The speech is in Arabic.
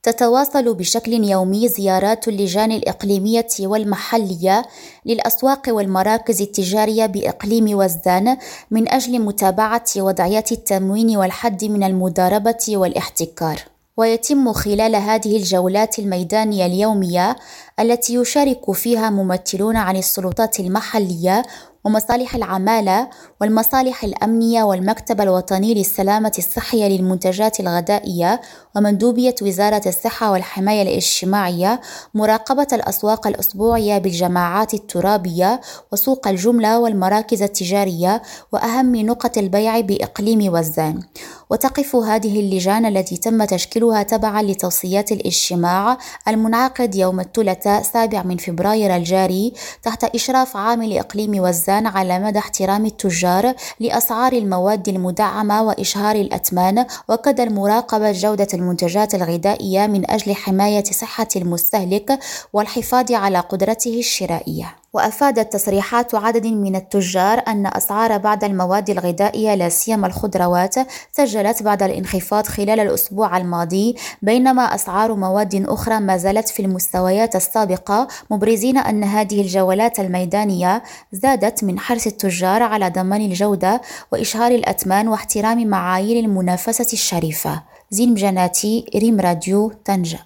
تتواصل بشكل يومي زيارات اللجان الإقليمية والمحلية للأسواق والمراكز التجارية بإقليم وزان من أجل متابعة وضعيات التموين والحد من المضاربة والاحتكار. ويتم خلال هذه الجولات الميدانية اليومية التي يشارك فيها ممثلون عن السلطات المحلية ومصالح العمالة والمصالح الأمنية والمكتب الوطني للسلامة الصحية للمنتجات الغذائية ومندوبية وزارة الصحة والحماية الاجتماعية مراقبة الأسواق الأسبوعية بالجماعات الترابية وسوق الجملة والمراكز التجارية وأهم نقط البيع بإقليم وزان. وتقف هذه اللجان التي تم تشكيلها تبعا لتوصيات الاجتماع المنعقد يوم الثلاثاء 7 من فبراير الجاري تحت إشراف عامل إقليم وزان على مدى احترام التجار لأسعار المواد المدعمة وإشهار الأثمان وكذا مراقبة جودة المنتجات الغذائية من أجل حماية صحة المستهلك والحفاظ على قدرته الشرائية. وأفادت تصريحات عدد من التجار أن أسعار بعض المواد الغذائية لا سيما الخضروات سجلت بعض الانخفاض خلال الأسبوع الماضي، بينما أسعار مواد أخرى ما زالت في المستويات السابقة، مبرزين أن هذه الجولات الميدانية زادت من حرص التجار على ضمان الجودة وإشهار الأثمان واحترام معايير المنافسة الشريفة. زين بجناتي، ريم راديو، طنجة.